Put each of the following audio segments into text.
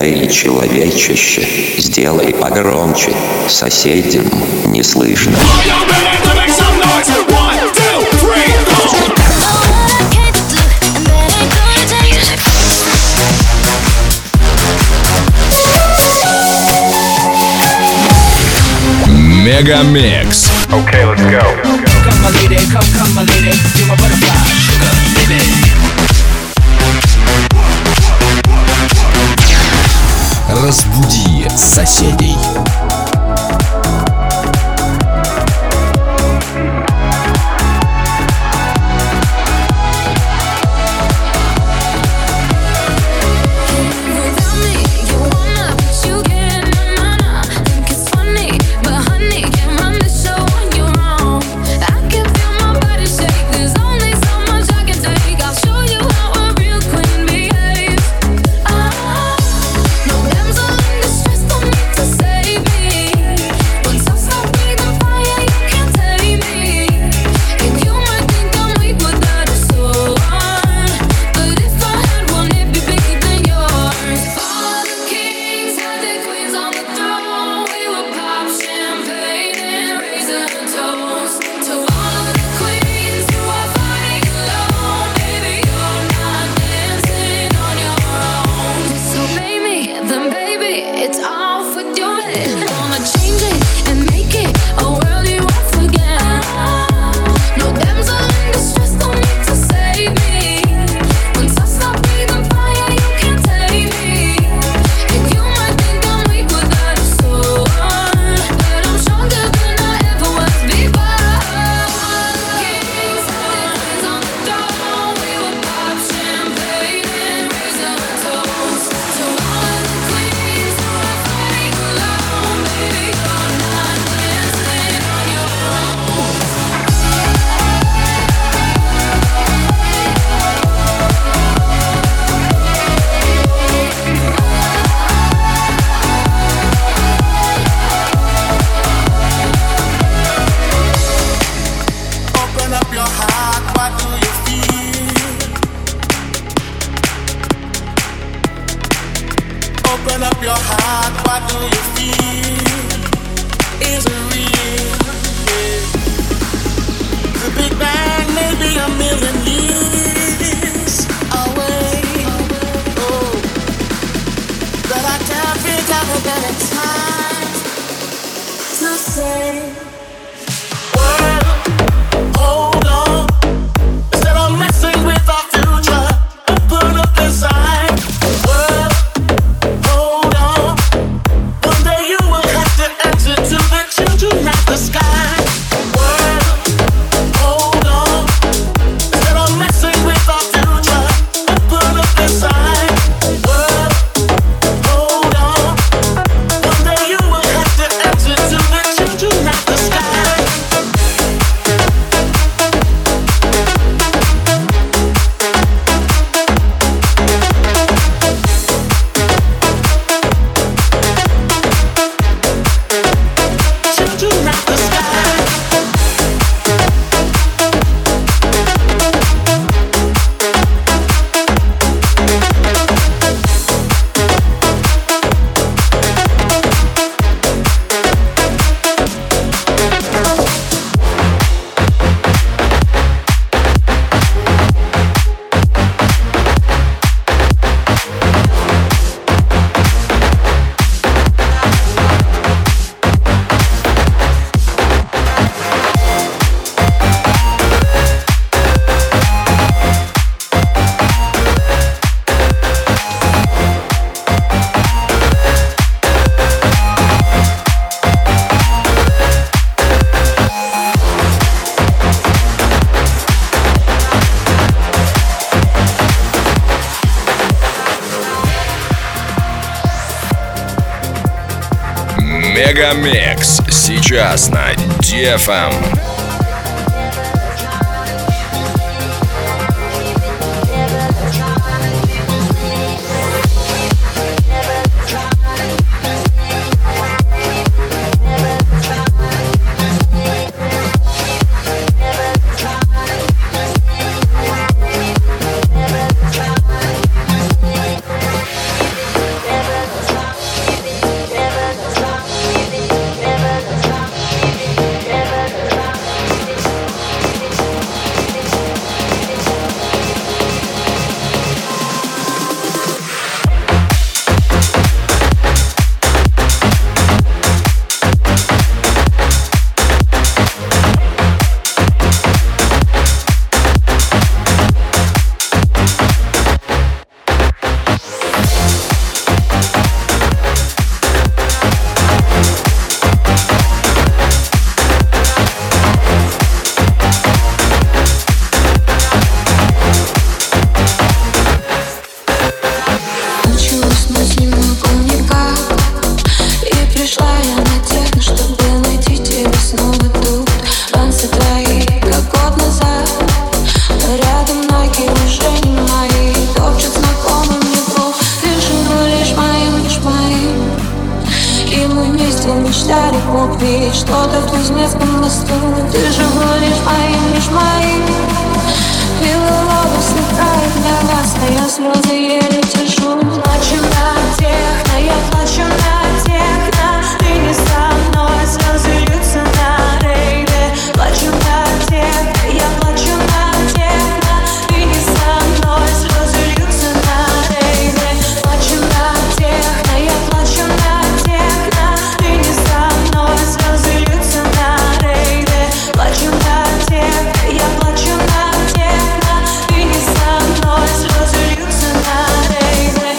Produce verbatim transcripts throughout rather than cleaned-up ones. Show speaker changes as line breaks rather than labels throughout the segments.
Эй, человечище, сделай погромче, соседям не слышно.
Мегамикс.
Okay, let's go.
Come my lady, come, come my lady, you're my butterfly, sugar, baby.
Разбуди соседей. Мегамикс сейчас на ди эф эм.
детстве мечтали купить что-то в Кузнецком мосту. Ты же будешь моим, лишь моим. Белый лотос сверкает небо, стоя слезы еле тяжу. Плачу на техно, я плачу на техно. Ты не со мной, слезы льются на рейве. Плачу на техно, я плачу на техно. Ты не со мной, слезы льются на рейве. Плачу на техно, я плачу на техно. Ты не со мной, слезы льются на рейве. Плачу на техно, я плачу на техно. Ты не со мной, слезы льются на рейве.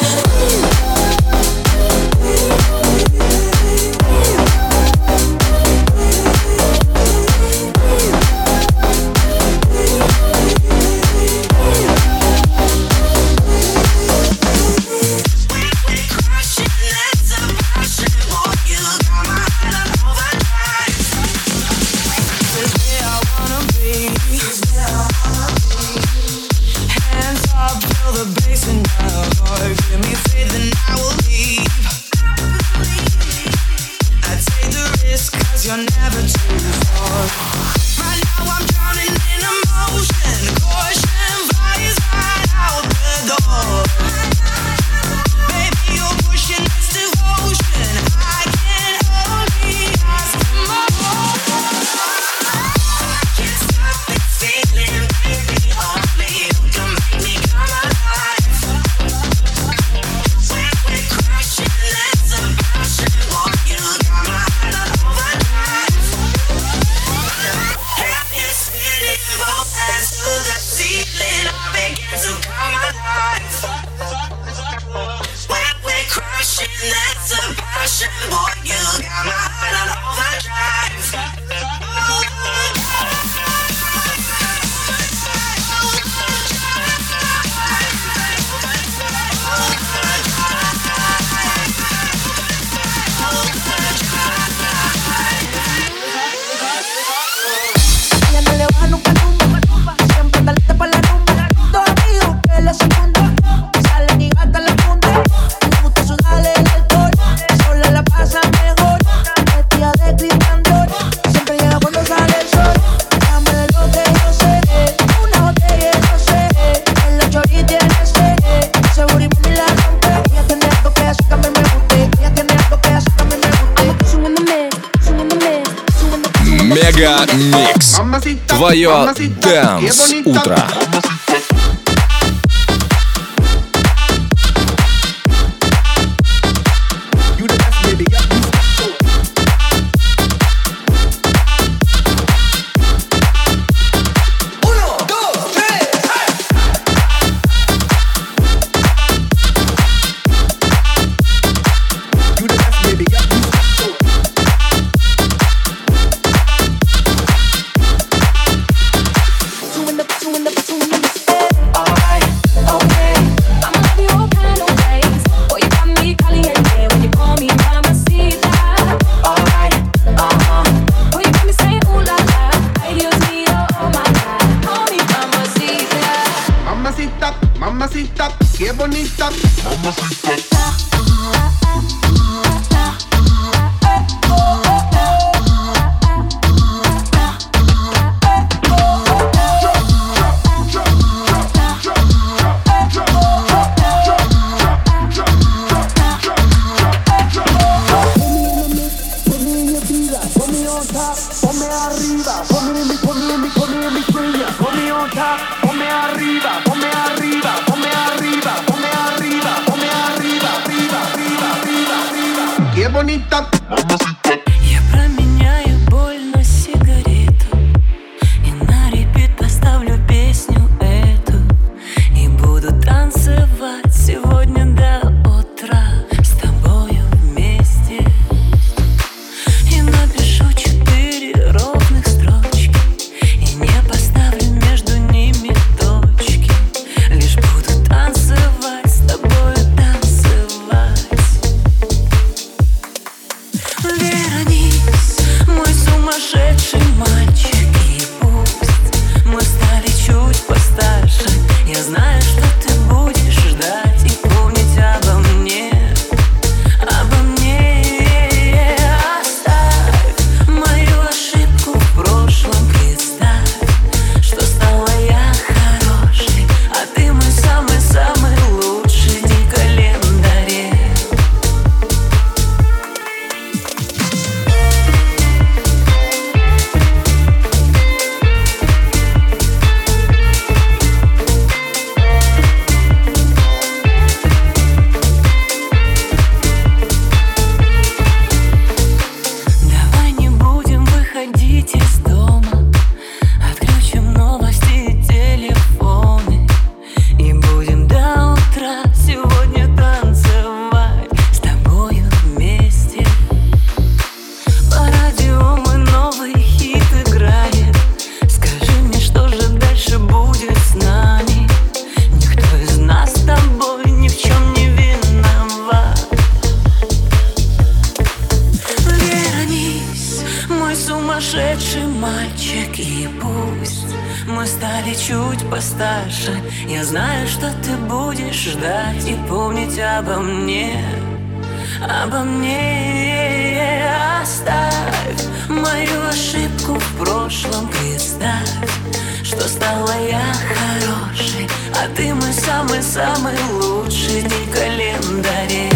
Мега Микс. Твое Дэнс утро.
Mamacita, qué bonita. Mamacita. Bonita.
Я променяю боль на сигарету и на репит поставлю песню эту. И буду танцевать сегодня до утра с тобою вместе. И напишу четыре ровных строчки и не поставлю между ними точки. Лишь буду танцевать с тобою, танцевать. Вероника.
И пусть мы стали чуть постарше, я знаю, что ты будешь ждать и помнить обо мне, обо мне. Оставь мою ошибку в прошлом, представь, что стала я хорошей, а ты мой самый-самый лучший день в календаре.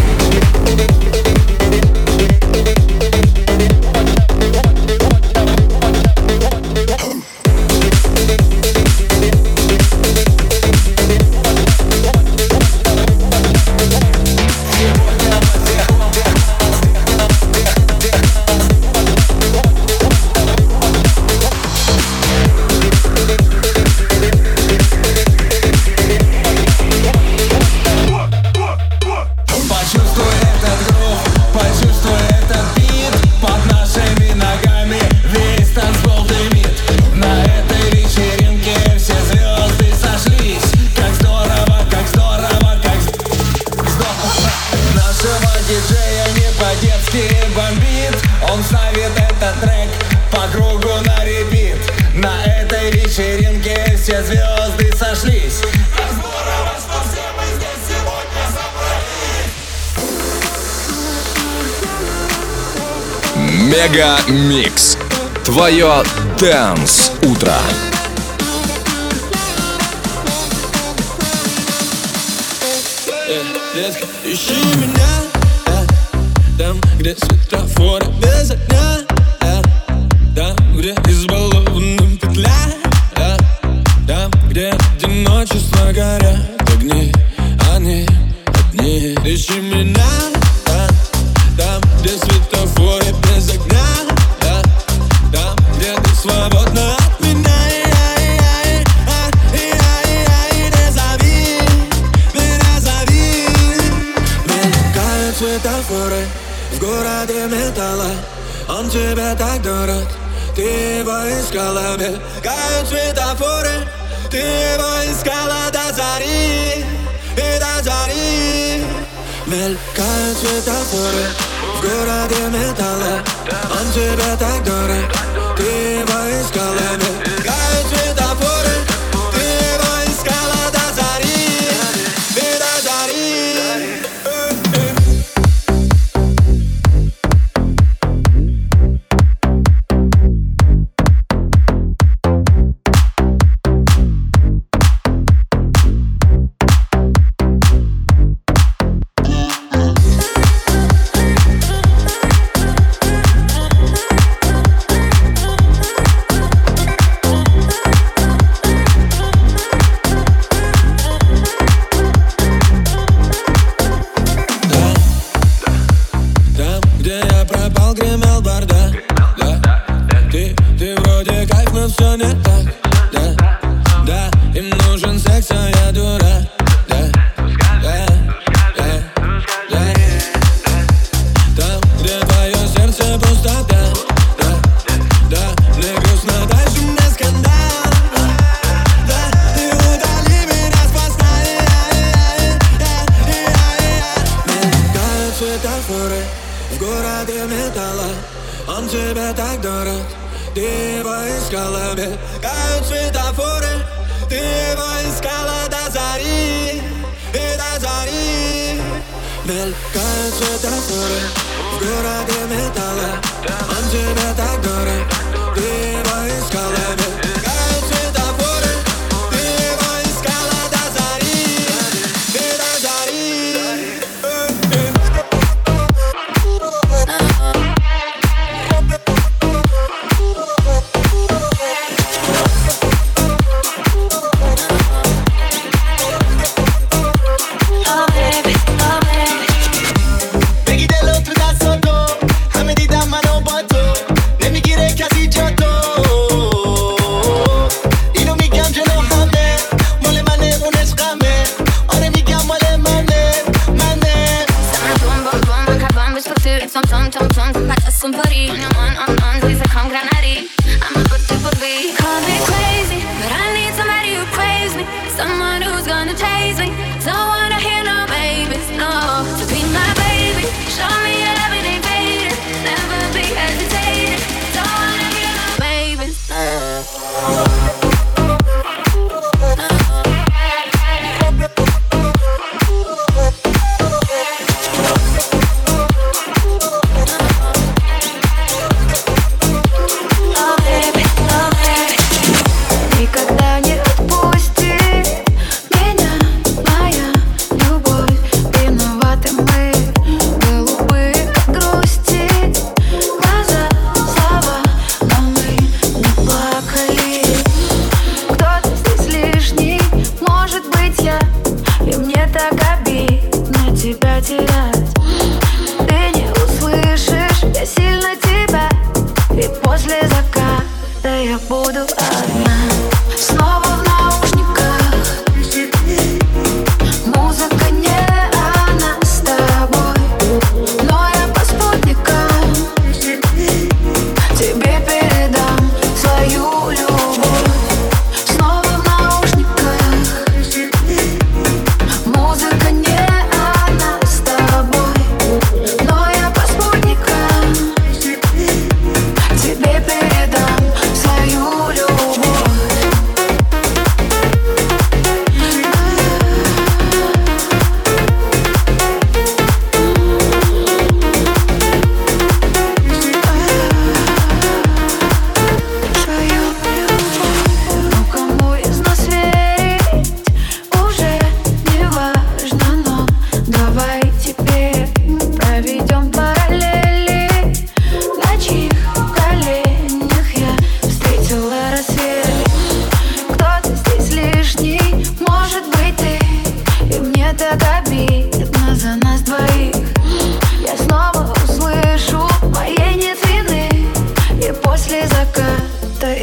Он ставит этот трек по кругу на репит. На этой вечеринке все звезды сошлись. Как здорово, что все мы здесь сегодня собрались.
Мега Микс. Твое Dance утро.
Детка, ищи меня, э, там, где светофоры без огня, э, там, где избалованным петля, э, там, где одиночество горят огни, они одни. Ищи меня, э, там, где светофоры без огня, э, там, где ты свободна от меня. Светофоры в городе металла, он тебе так дорог, ты его искала. Мелькают светофоры, ты его искала до зари, и до зари. Мелькают светофоры в городе металла, он тебе так дорог, ты его искала. Мелькают светофоры, ты его искала до зари, и до зари. Гремел бардак, да. Ты, ты вроде кайф, но все не так, да. Да, им нужен секс, а я дурак, да. Да, да, да. Там, где твое сердце пустота, да. Да, мне грустно, дальше мне скандал, да. Ты удали меня спасай. Мелькают светофоры в городе металла, он тебе так дорог, ты его искала. Мелькают светофоры, ты его искала до зари, и до зари. Мелькают светофоры в городе металла, он тебе так дорог, ты его искала. Мелькают светофоры, ты его искала до зари, и до зари.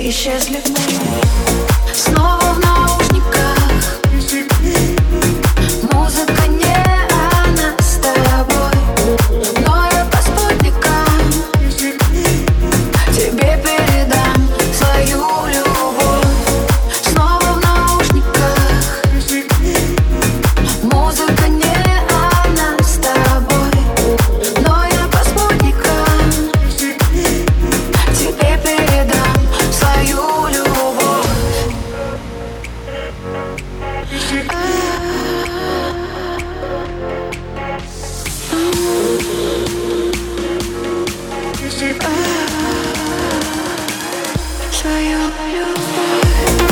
исчезли мы. Снова в наушниках. Музыка не она с тобой, но я по спутникам тебе передам свою любовь. Снова в наушниках. Музыка не она с тобой, но я по спутникам тебе передам свою любовь. Свою любовь.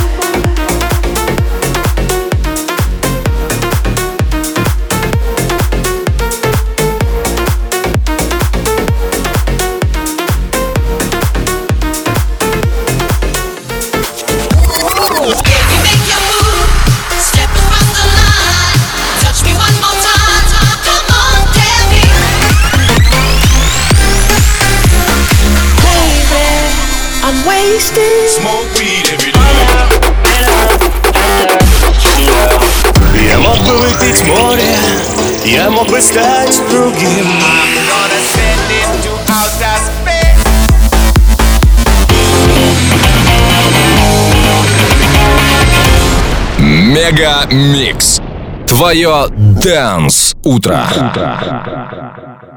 Smoke weed every day.
Я мог бы выпить море, я мог бы стать другим.
Мега Микс. Твое Dance утро.